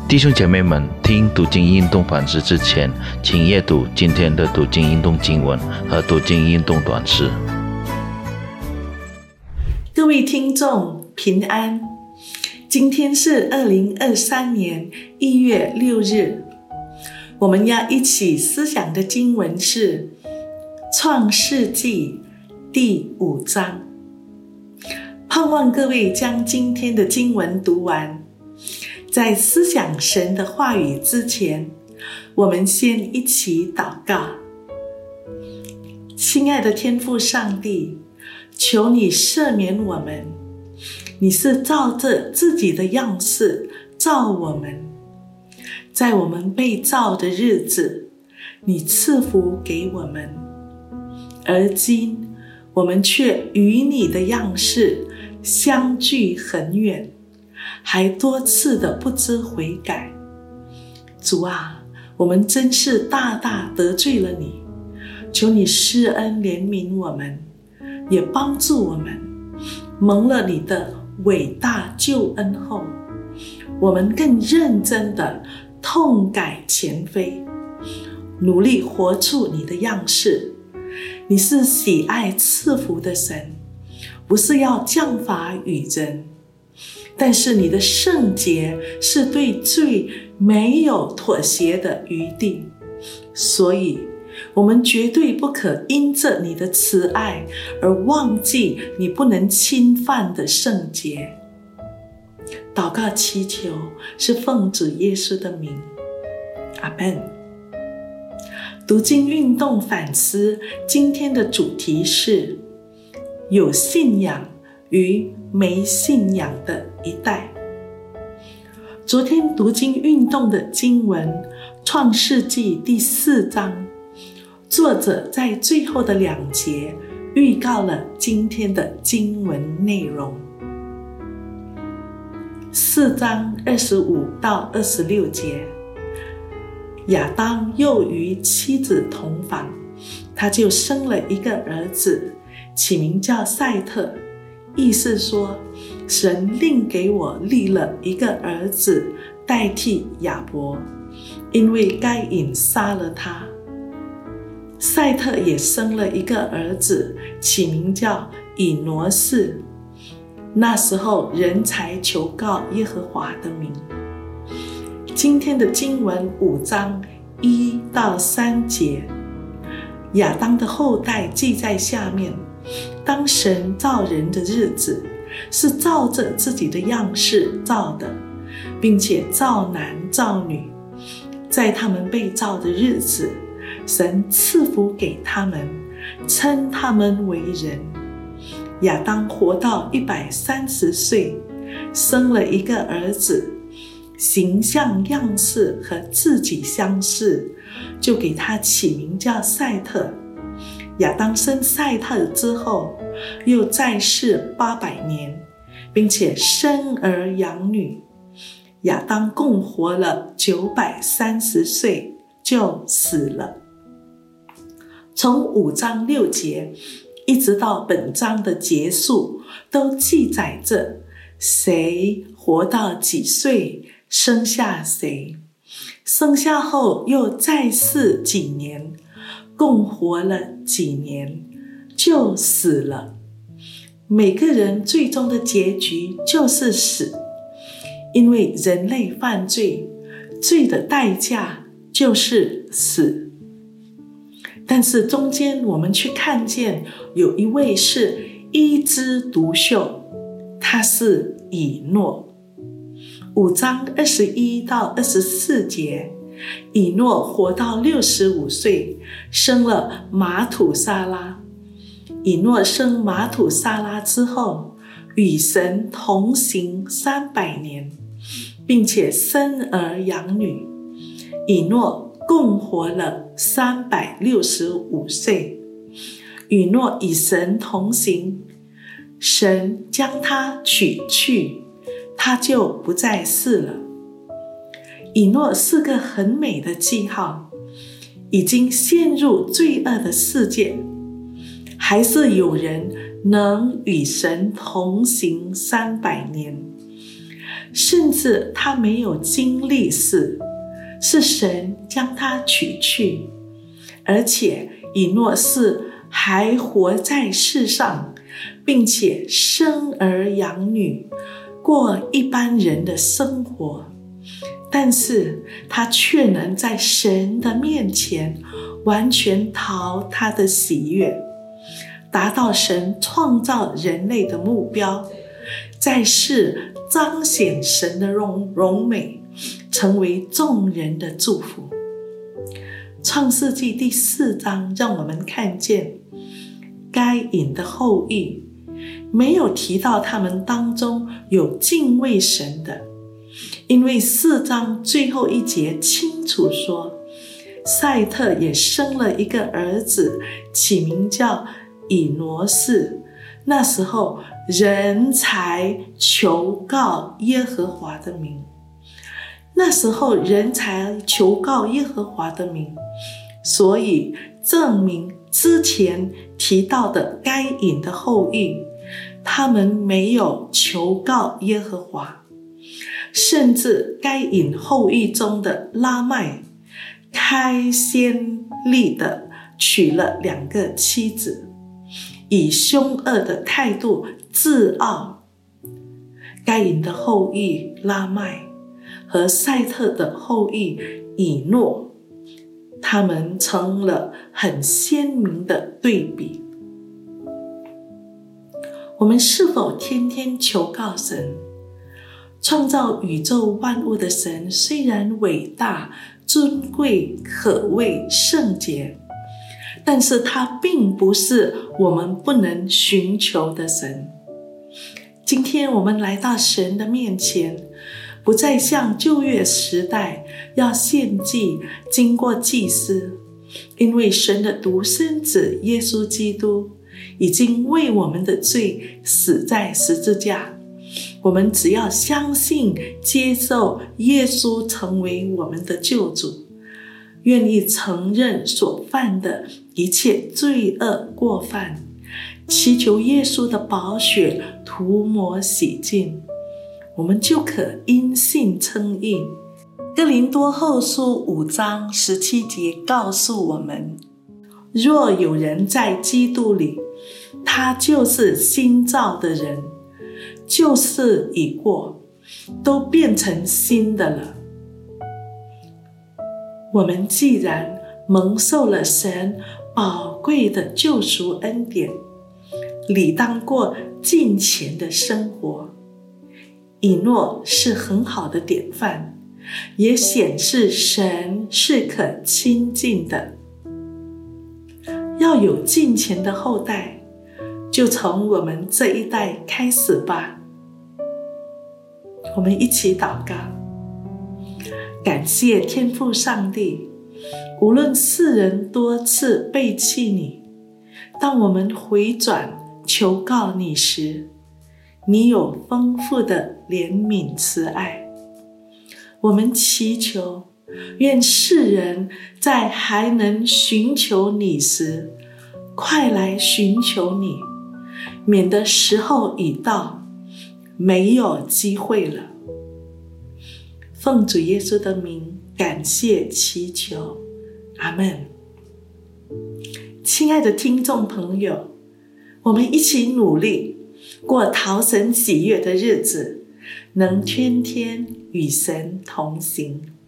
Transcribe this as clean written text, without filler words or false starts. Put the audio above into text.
弟兄姐妹们，听读经运动反思之前，请阅读今天的读经运动经文和读经运动短诗。 各位听众平安，今天是2023年1月6日，我们要一起思想的经文是创世纪第5章。盼望各位将今天的经文读完。在思想神的话语之前，我们先一起祷告。亲爱的天父上帝，求你赦免我们，你是照着自己的样式造我们，在我们被造的日子，你赐福给我们，而今我们却与你的样式相距很远，还多次的不知悔改。主啊，我们真是大大得罪了你，求你施恩怜悯我们，也帮助我们蒙了你的伟大救恩后，我们更认真的痛改前非，努力活出你的样式。你是喜爱赐福的神，不是要降罚于人，但是你的圣洁是对罪没有妥协的余地，所以我们绝对不可因着你的慈爱而忘记你不能侵犯的圣洁。祷告祈求是奉主耶稣的名，阿们。读经运动反思，今天的主题是有信仰与没信仰的一代。昨天读经运动的经文创世纪第4章，作者在最后的2节预告了今天的经文内容。4章25到26节，亚当又与妻子同房，他就生了一个儿子，起名叫赛特，意思说神另给我立了一个儿子代替亚伯，因为该隐杀了他。赛特也生了一个儿子，起名叫以挪士，那时候人才求告耶和华的名。今天的经文5章1到3节，亚当的后代记在下面。当神造人的日子，是照着自己的样式造的，并且造男造女。在他们被造的日子，神赐福给他们，称他们为人。亚当活到130岁，生了一个儿子，形象样式和自己相似，就给他起名叫赛特。亚当生赛特之后，又在世800年，并且生儿养女。亚当共活了930岁就死了。从5章6节一直到本章的结束，都记载着谁活到几岁，生下谁，生下后又在世几年，共活了几年就死了。每个人最终的结局就是死，因为人类犯罪，罪的代价就是死。但是中间我们却看见有一位是一枝独秀，他是以诺。5章21到24节，以诺活到65岁，生了马土沙拉。以诺生马土沙拉之后，与神同行300年，并且生儿养女。以诺共活了365岁。以诺与神同行，神将他取去，他就不再世了。以诺是个很美的记号，已经陷入罪恶的世界，还是有人能与神同行300年。 甚至他没有经历死，是神将他取去，而且以诺士还活在世上，并且生儿养女，过一般人的生活，但是他却能在神的面前完全讨他的喜悦，达到神创造人类的目标，在世彰显神的荣美，成为众人的祝福。创世纪第4章让我们看见该隐的后裔，没有提到他们当中有敬畏神的，因为4章最后一节清楚说，赛特也生了一个儿子，起名叫以挪士。那时候人才求告耶和华的名，所以证明之前提到的该隐的后裔，他们没有求告耶和华，甚至该隐后裔中的拉麦开先例的娶了2个妻子，以凶恶的态度自傲。该隐的后裔拉麦和赛特的后裔以诺，他们成了很鲜明的对比。我们是否天天求告神？创造宇宙万物的神虽然伟大、尊贵、可畏、圣洁，但是他并不是我们不能寻求的神。今天我们来到神的面前，不再像旧约时代要献祭经过祭司，因为神的独生子耶稣基督已经为我们的罪死在十字架，我们只要相信接受耶稣成为我们的救主，愿意承认所犯的一切罪恶过犯，祈求耶稣的宝血涂抹洗净，我们就可因信称义。哥林多后书5章17节告诉我们，若有人在基督里，他就是新造的人，旧事已过，都变成新的了。我们既然蒙受了神宝贵的救赎恩典，理当过敬虔的生活。以诺是很好的典范，也显示神是可亲近的。要有敬虔的后代，就从我们这一代开始吧。我们一起祷告。感谢天父上帝，无论世人多次背弃你，当我们回转求告你时，你有丰富的怜悯慈爱。我们祈求，愿世人在还能寻求你时，快来寻求你，免得时候已到，没有机会了。奉主耶稣的名，感谢祈求，阿们。亲爱的听众朋友，我们一起努力过讨神喜悦的日子，能天天与神同行。